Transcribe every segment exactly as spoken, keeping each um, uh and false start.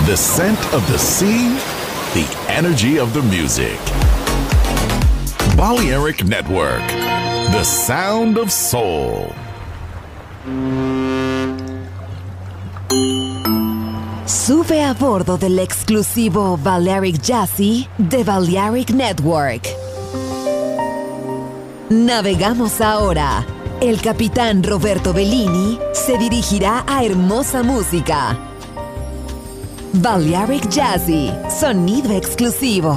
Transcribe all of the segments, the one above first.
The scent of the sea, the energy of the music. Balearic Network, the sound of soul. Sube a bordo del exclusivo Balearic Jazzy de Balearic Network. Navegamos ahora. El capitán Roberto Bellini se dirigirá a hermosa música. Balearic Jazzy, sonido exclusivo.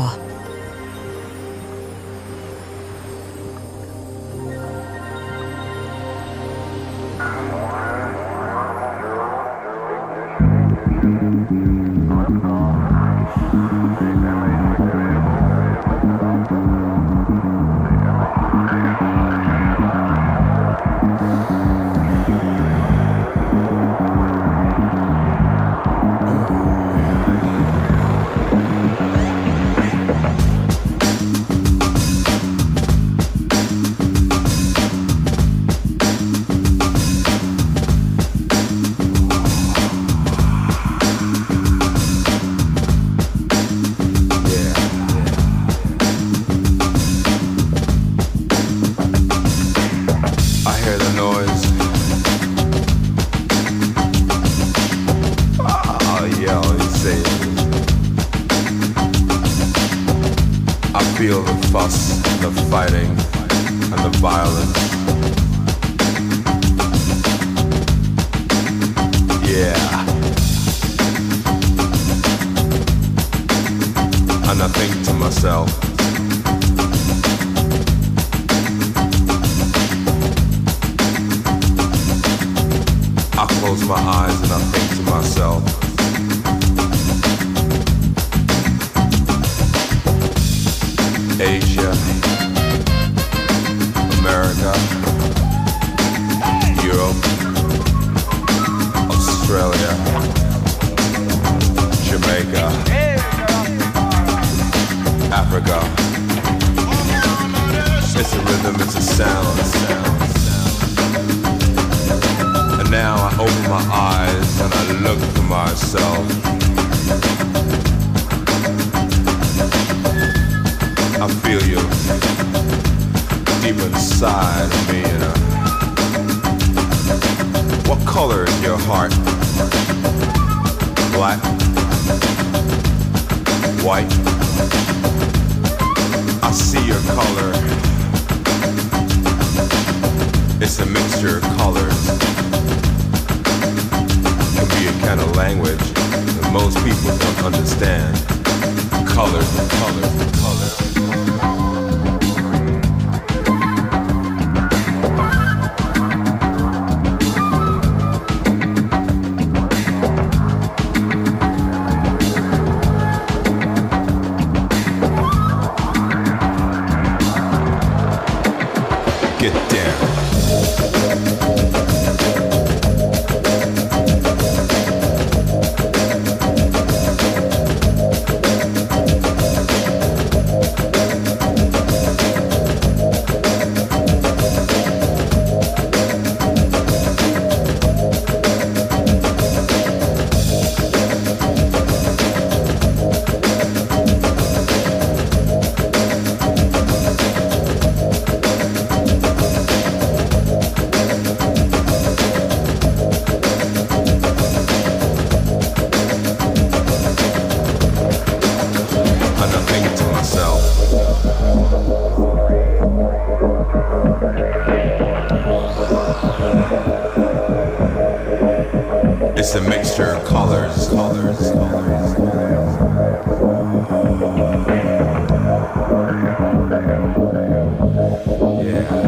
It's a mixture of colors, colors, colors. Yeah.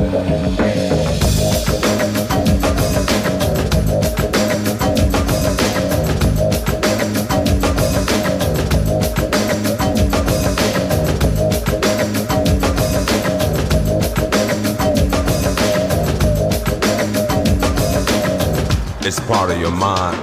It's part of your mind.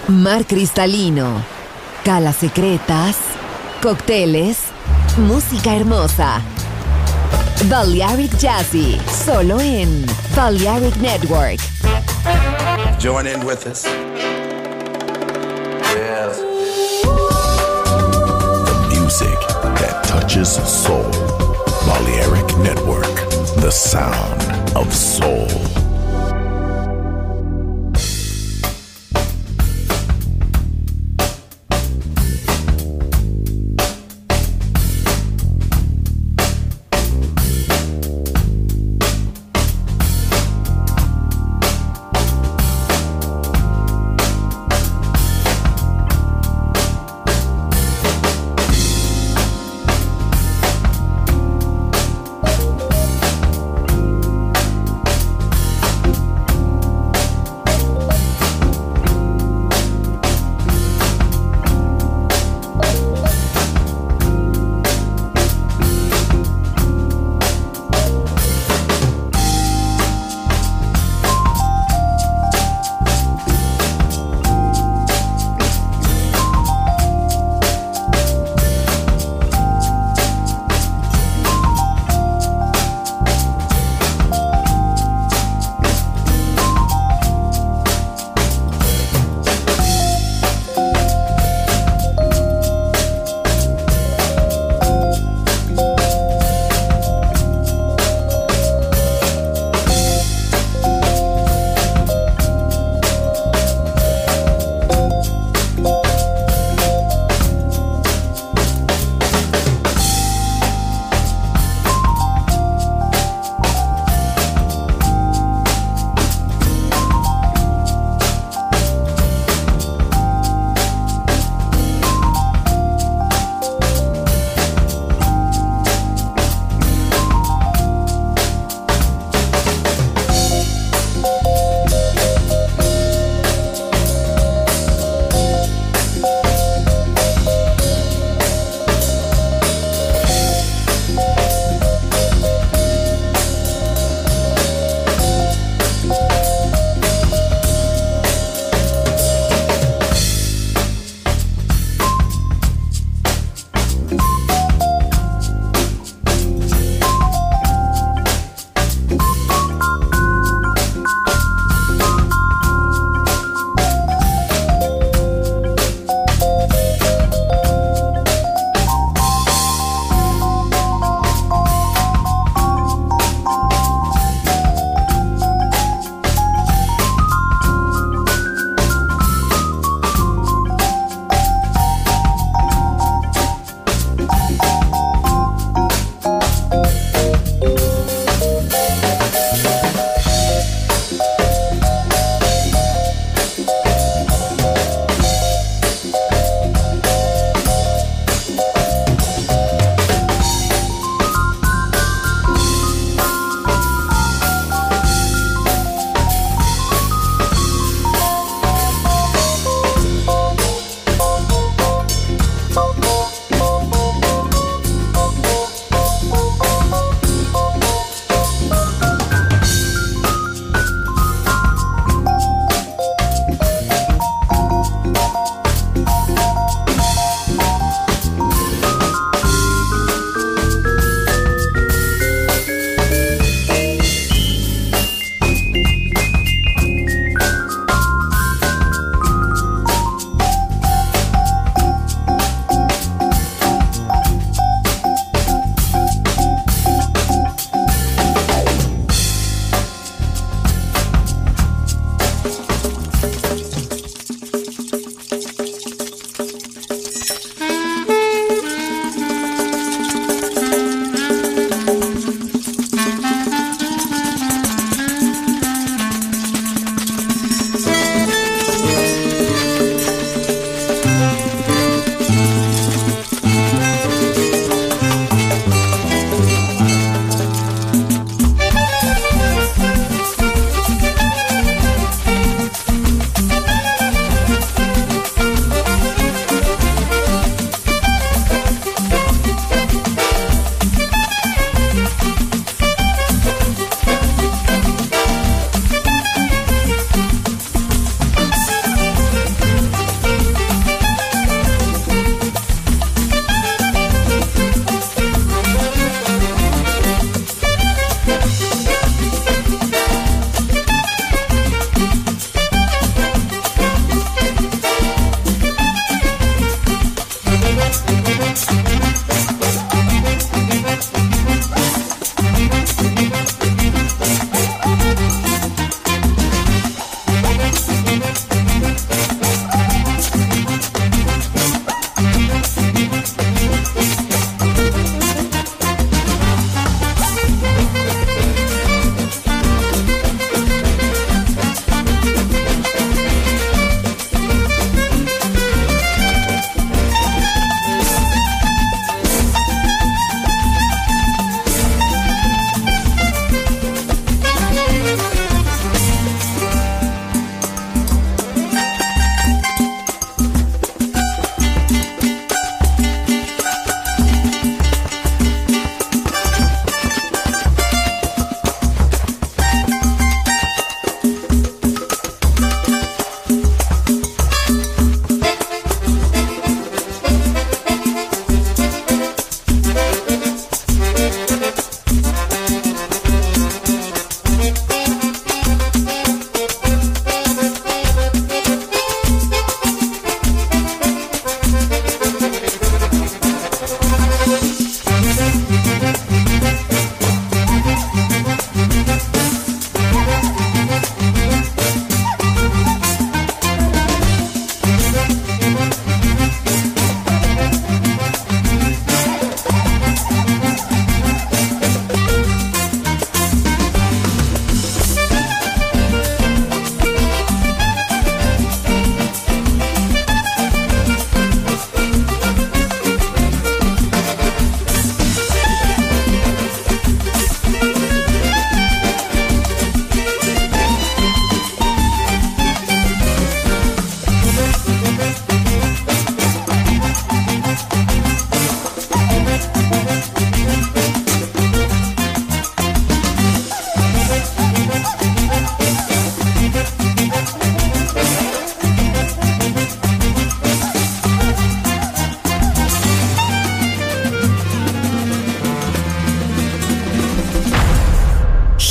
mar cristalino, calas secretas, cócteles, música hermosa. Balearic Jazzy, solo en Balearic Network. Join in with us. Yes. The music that touches soul. Balearic Network, the sound of soul.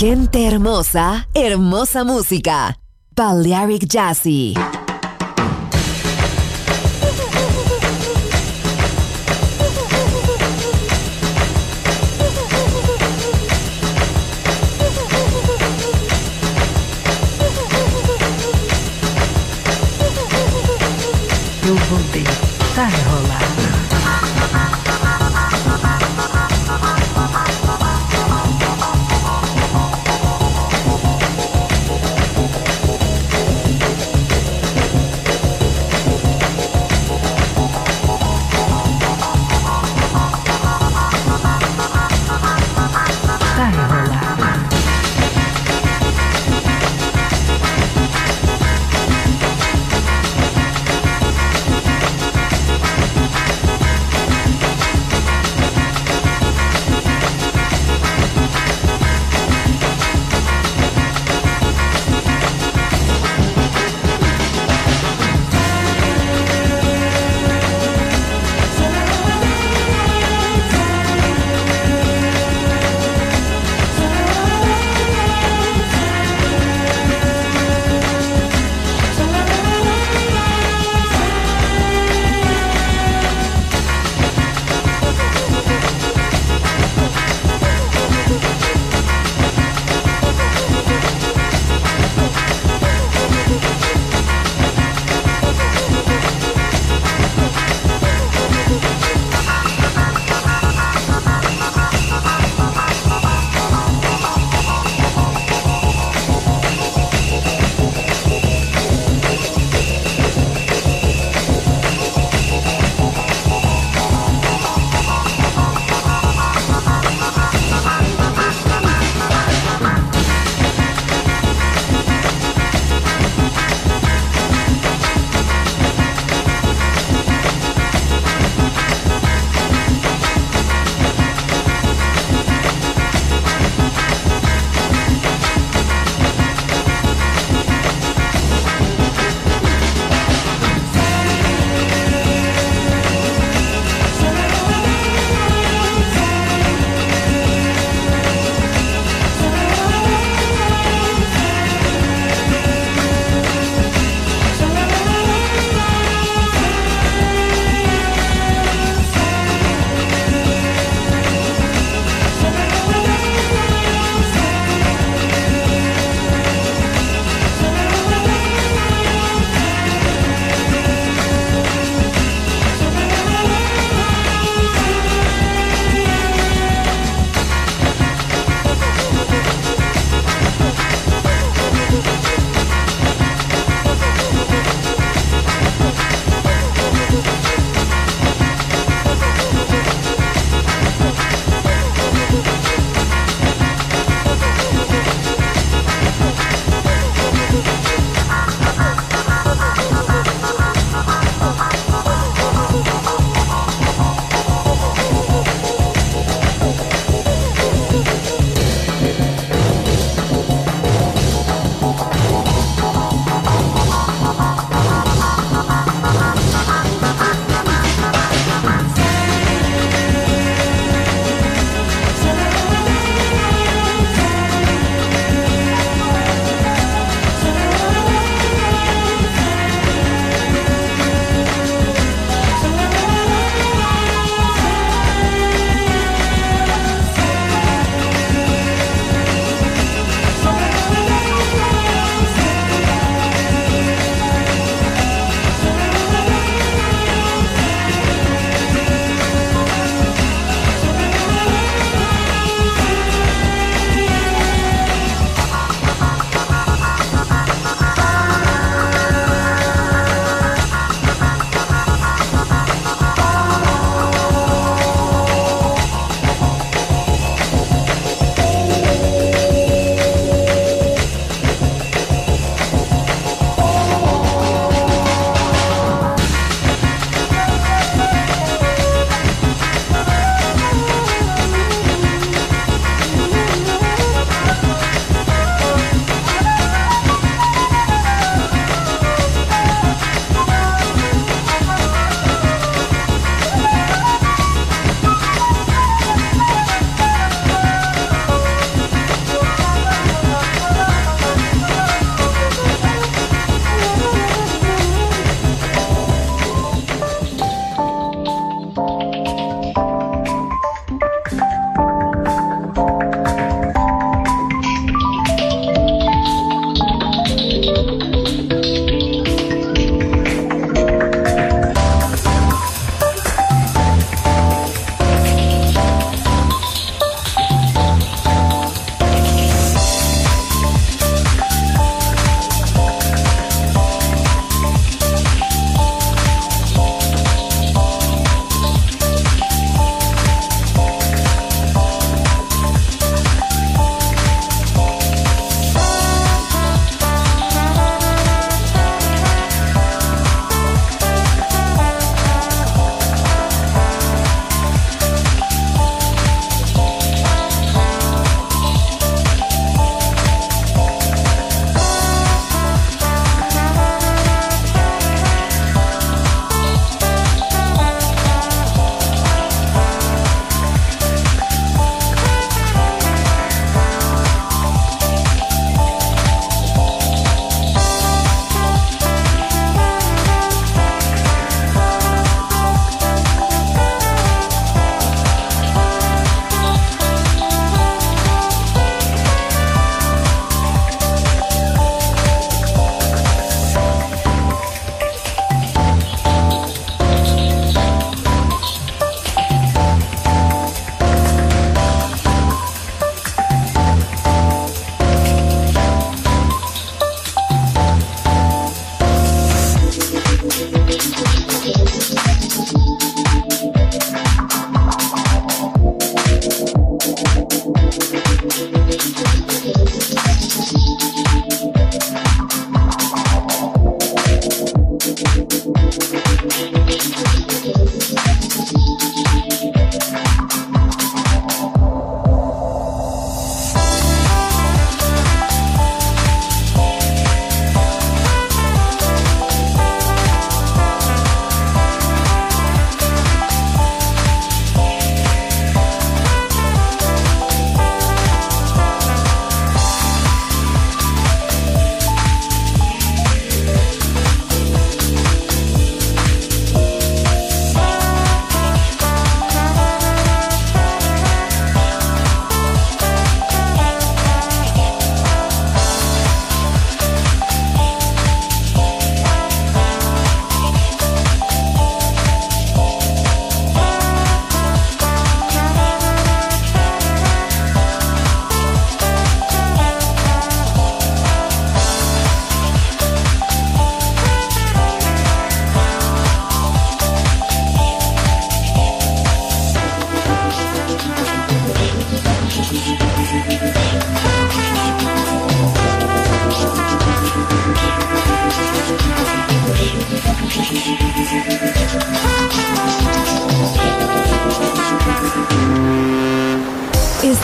Gente hermosa, hermosa música. Balearic Jazzy. Eu vou deitar e rolar.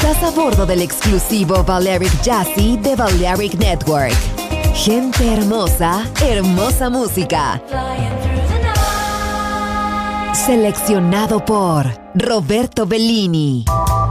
Estás a bordo del exclusivo Balearic Jazzy de Balearic Network. Gente hermosa, hermosa música. Seleccionado por Roberto Bellini.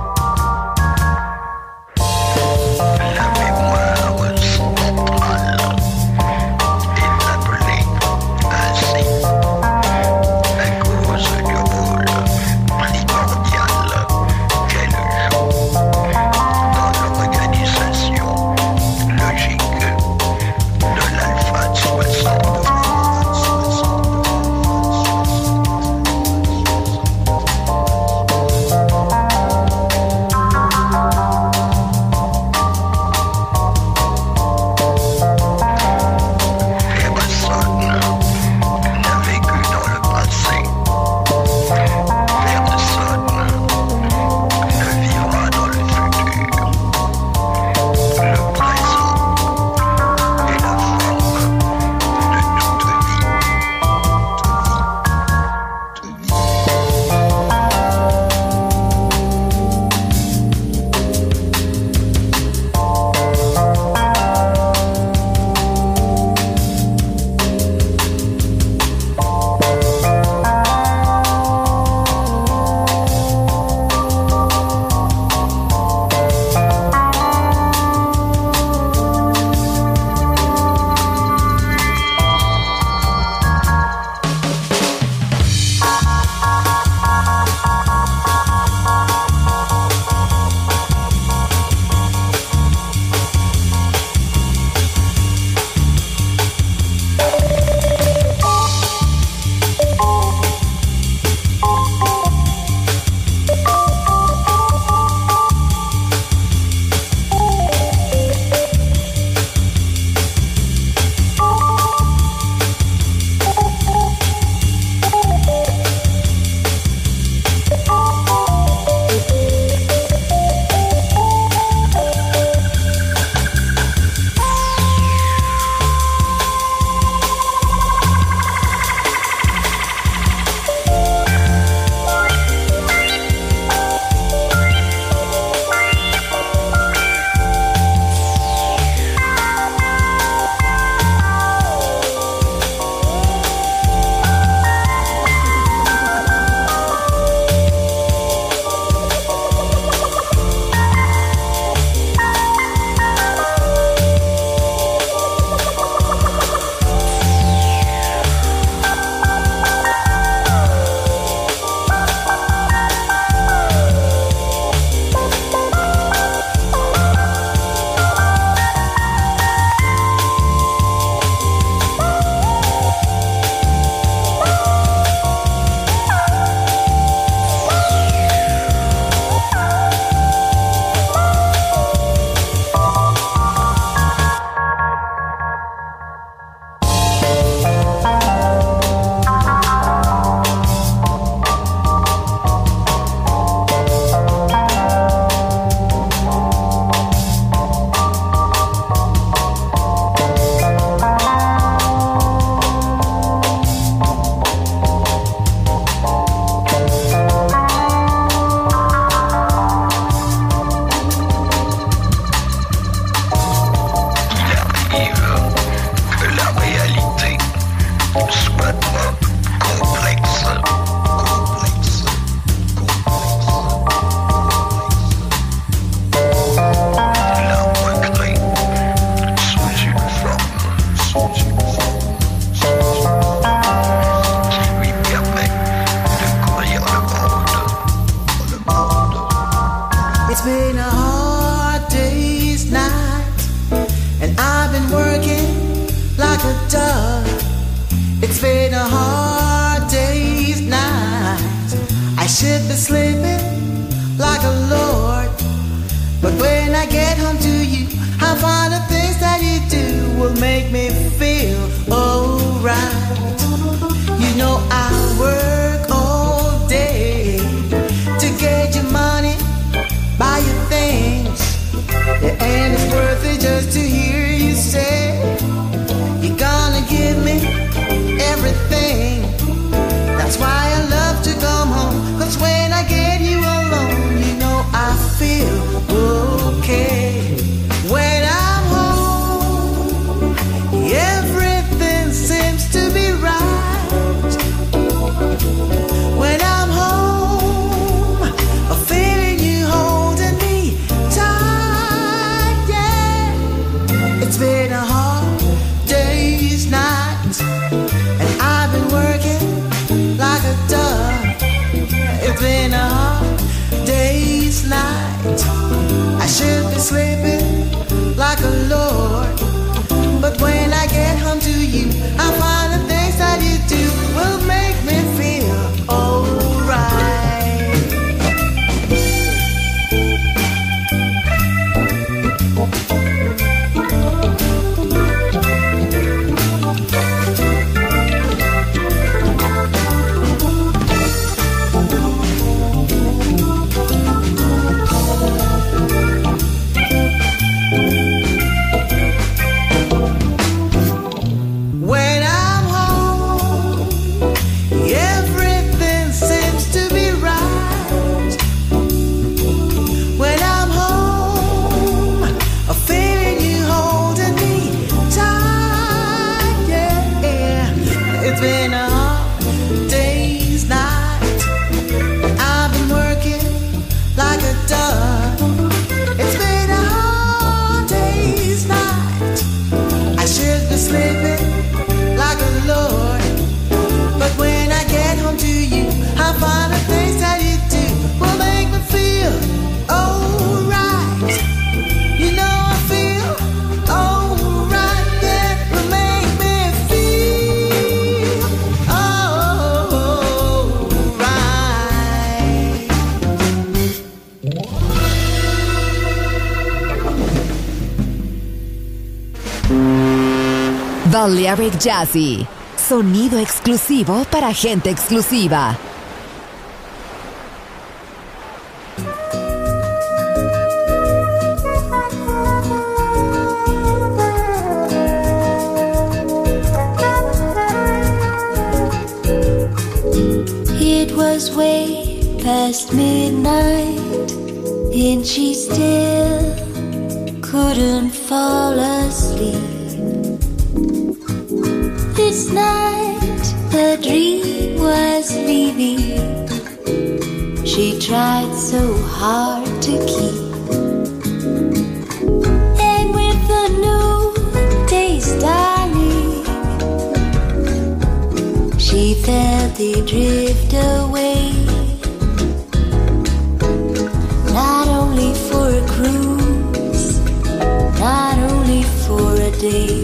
should be sleeping like a lord. But when I get home to you, I find the things that you do will make me feel alright. You know I work all day to get your money, buy your things, and it's worth it just to hear you say you're gonna give me everything. That's why I love to come home, 'cause when I get you alone, you know I feel should be sleeping like a lord, but when I get home to you, I find the things that you do will make me feel alright. Balearic Jazzy, sonido exclusivo para gente exclusiva. It was way past midnight and she still couldn't fall asleep. This night the dream was leaving. She tried so hard to keep. And with the new day starting, she felt they drift away. Not only for a cruise, not only for a day.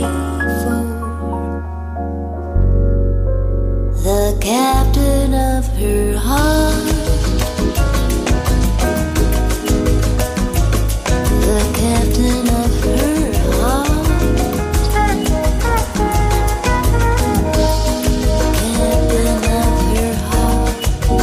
for the captain of her heart. The captain of her heart. Captain of her heart.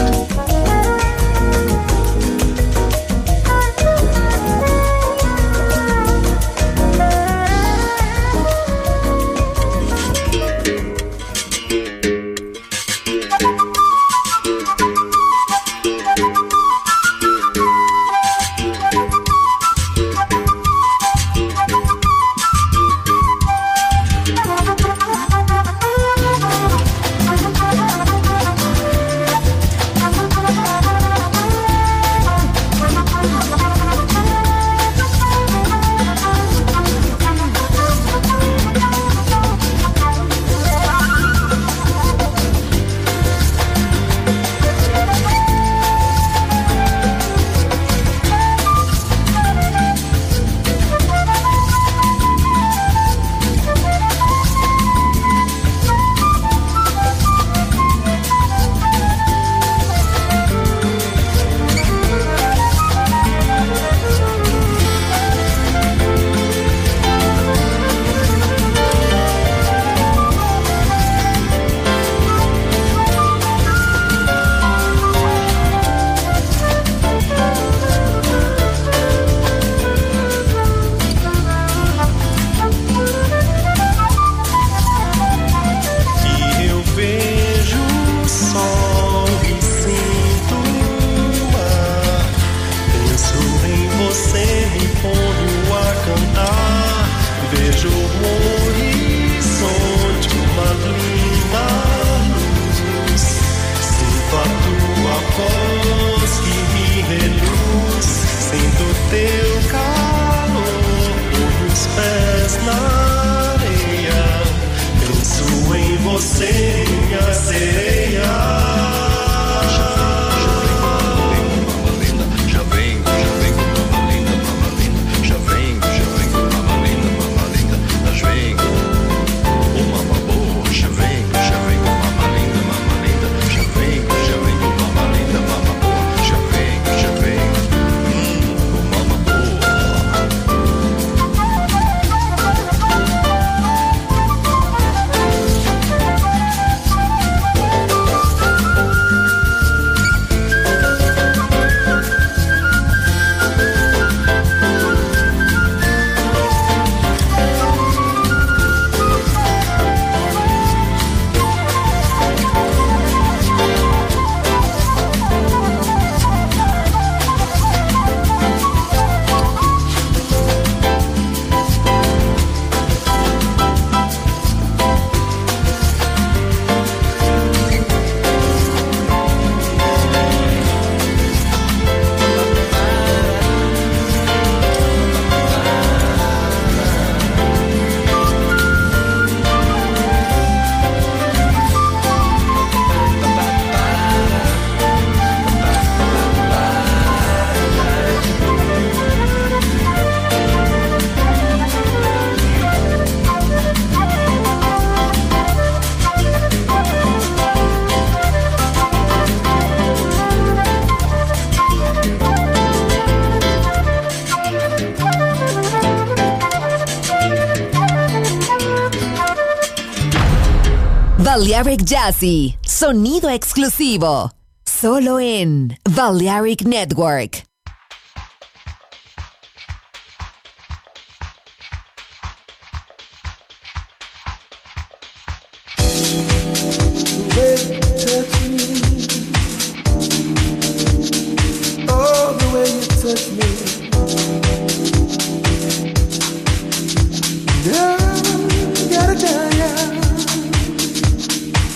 Balearic Jazzy, sonido exclusivo, solo en Balearic Network.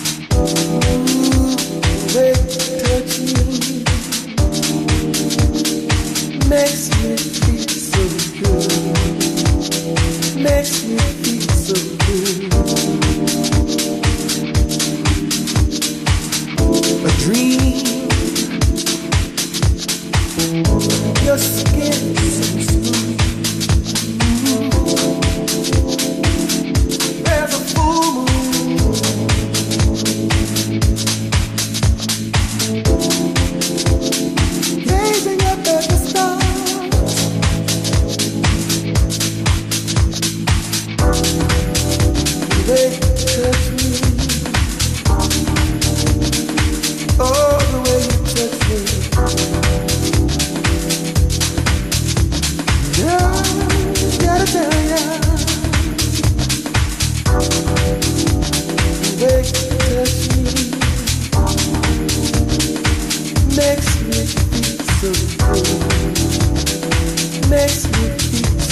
Touch me.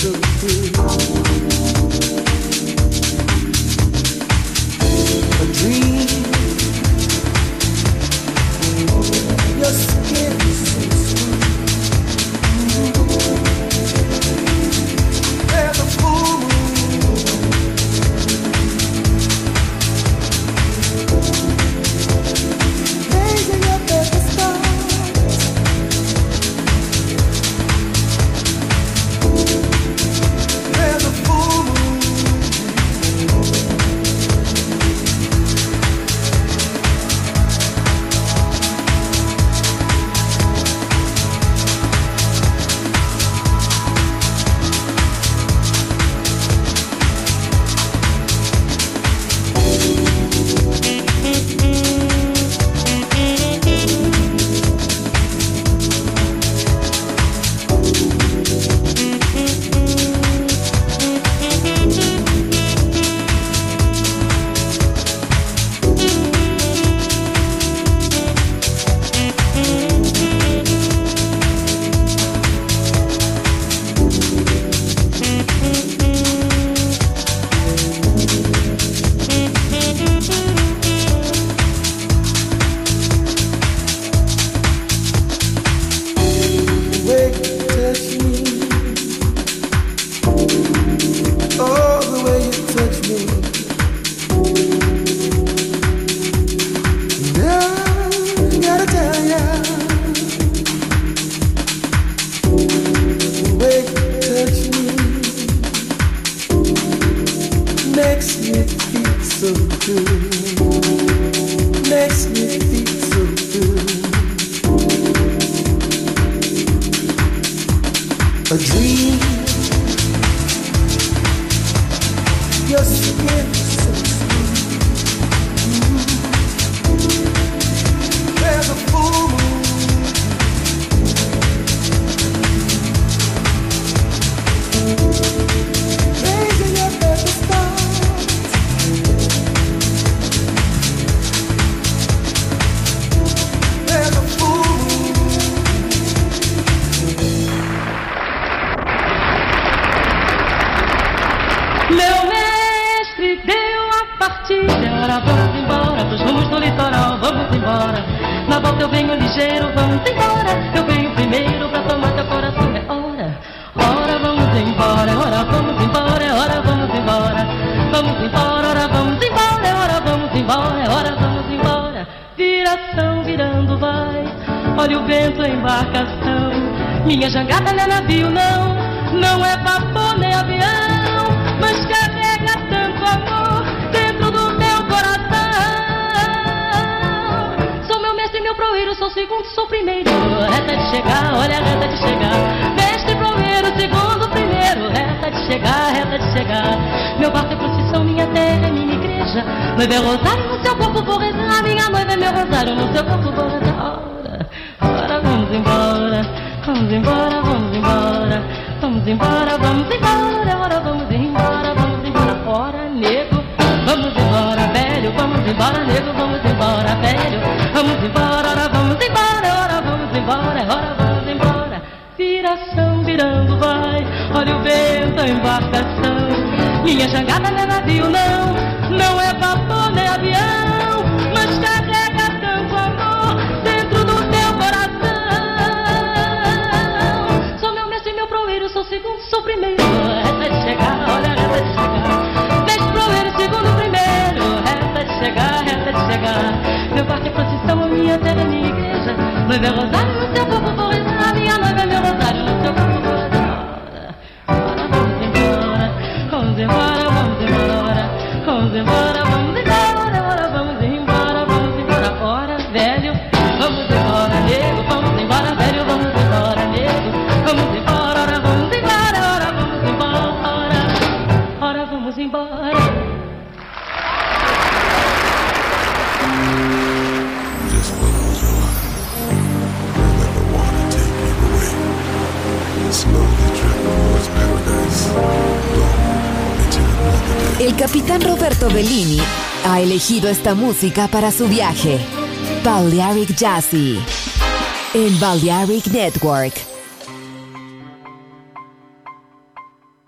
so good. A dream. Your skin is so smooth. There's a full moon. Raising up at the stars. There's a full moon. Minha jangada não é navio, não, não é vapor nem avião, mas carrega tanto amor dentro do meu coração. Sou meu mestre, meu proeiro, sou segundo, sou primeiro. Reta de chegar, olha a reta de chegar. Mestre, proeiro, segundo, primeiro. Reta de chegar, reta de chegar. Meu barco é procissão, minha terra é minha igreja. Noiva é rosário, no seu corpo vou rezar. Minha noiva é meu rosário, no seu corpo vou rezar. Ora, ora, vamos embora. Vamos embora, vamos embora, vamos embora, vamos embora, ora vamos embora, vamos embora, ora nego, vamos embora, velho, vamos embora, nego, vamos embora, velho, vamos embora, ora vamos embora, ora vamos embora, ora vamos embora, viração virando vai, olha o vento, a embarcação, minha jangada não é navio não, não é vapor nem avião, mas carrega tanto amor dentro do teu coração. Sou segundo, sou primeiro, reta de chegar, olha a reta de chegar. Deixa o proeiro, segundo, primeiro, reta de chegar, reta de chegar. Meu barco é procissão, minha terra é minha igreja. Noiva é rosário, no seu corpo vou rezar. Minha noiva é meu rosário, no seu corpo vou rezar. Ora, vamos embora, vamos embora, vamos embora. Vamos embora, vamos embora, ora, vamos embora, vamos embora. Ora, velho, vamos embora, nego, vamos embora, velho, vamos embora, nego. Vamos embora. Vamos embora. Just close your eyes and let the water take you away. Slowly drift towards paradise. Don't into another day. El capitán Roberto Bellini ha elegido esta música para su viaje. Balearic Jazzy en Balearic Network.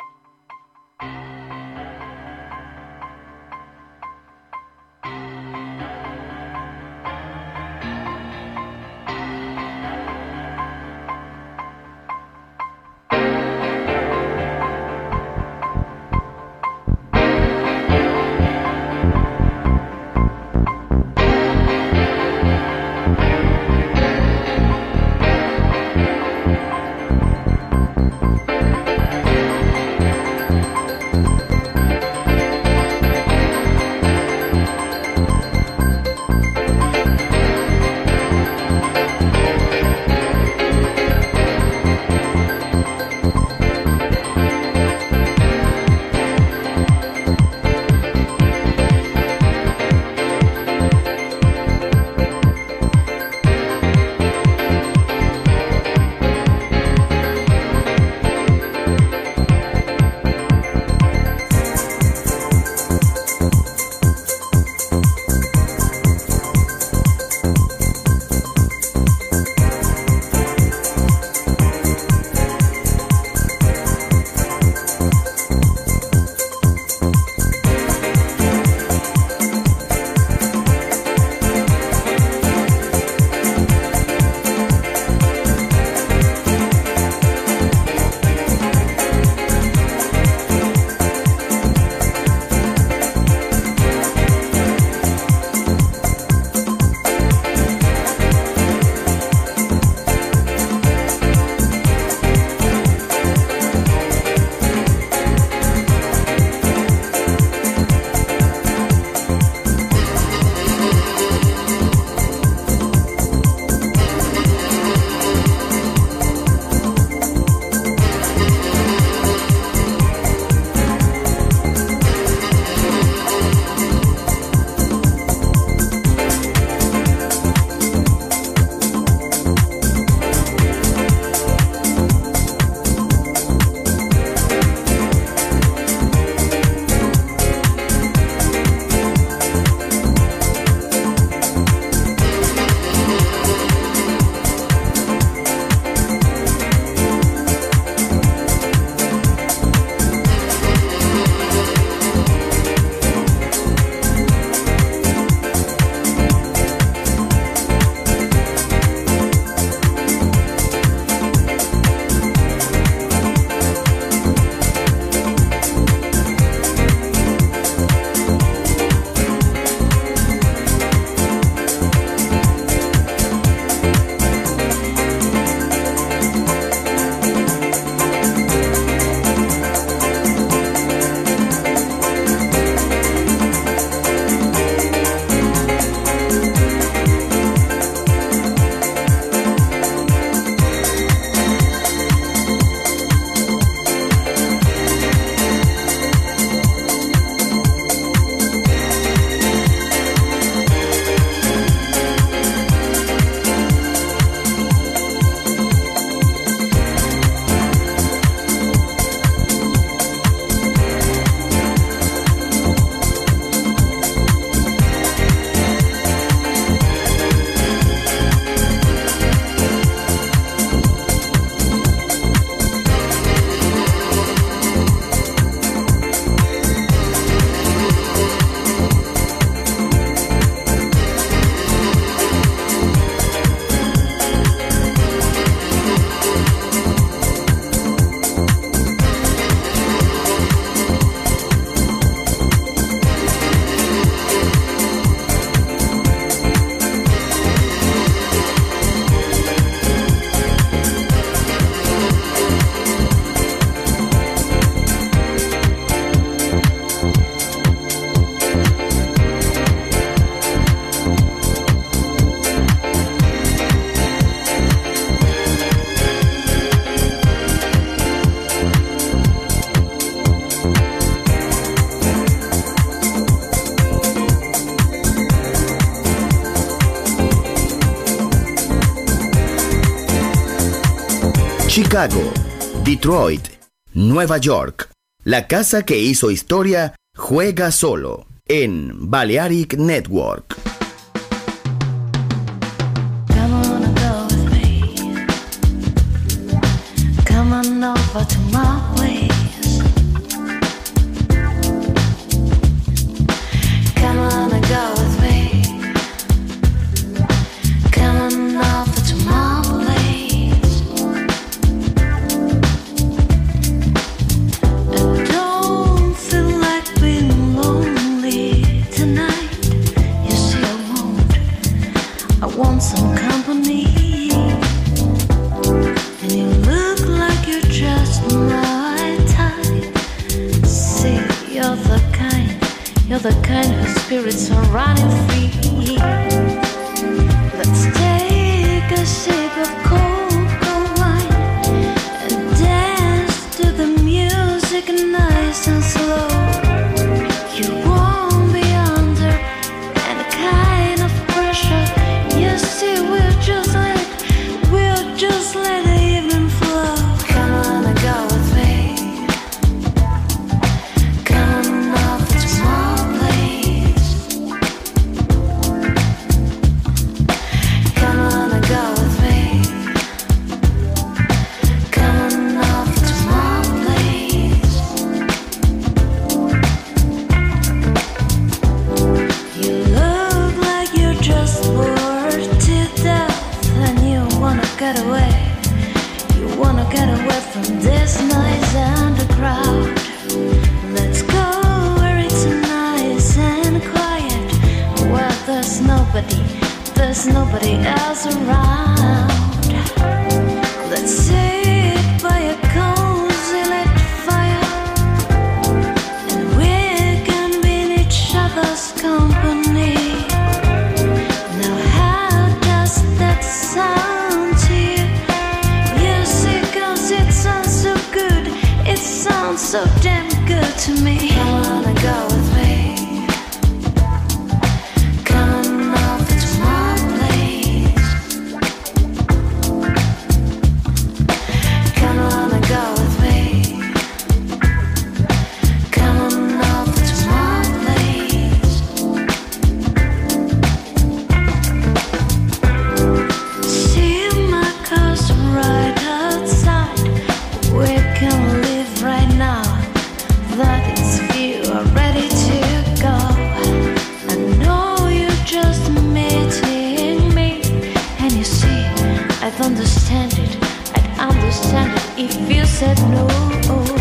Chicago, Detroit, Nueva York. La casa que hizo historia juega solo en Balearic Network. Over to my place. Come on and go with me. Come on over to my place. I don't feel like being lonely tonight. You see, I won't. I want some company. And you look like you're just my type. See, you're the kind, you're the kind whose spirits are running free. Let's take a sip of cold, cold wine and dance to the music nice and slow. You won't be under any kind of pressure. You see, we'll just let, we'll just let it. There's nobody else around. Let's sit by a cozy lit fire, and we can be in each other's company. Now how does that sound to you? You see, cause it sounds so good. It sounds so damn good to me. Come on and go with me. I'd understand it, I'd understand it if you said no.